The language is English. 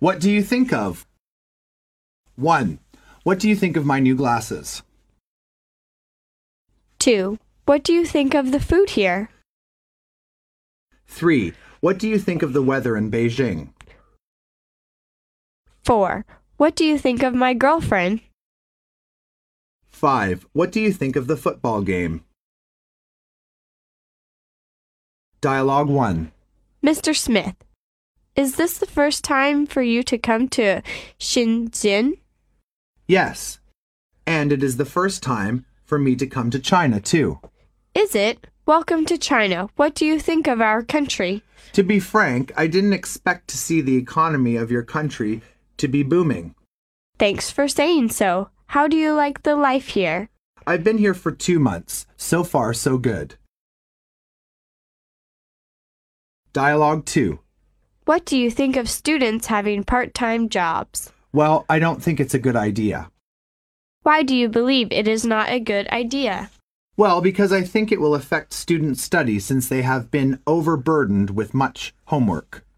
What do you think of? 1. What do you think of my new glasses? 2. What do you think of the food here? 3. What do you think of the weather in Beijing? 4. What do you think of my girlfriend? 5. What do you think of the football game? Dialogue 1. Mr. Smith, is this the first time for you to come to Shenzhen? Yes. And it is the first time for me to come to China, too. Is it? Welcome to China. What do you think of our country? To be frank, I didn't expect to see the economy of your country to be booming. Thanks for saying so. How do you like the life here? I've been here for 2 months. So far, so good. Dialogue 2. What do you think of students having part-time jobs? Well, I don't think it's a good idea. Why do you believe it is not a good idea? Well, because I think it will affect student study since they have been overburdened with much homework.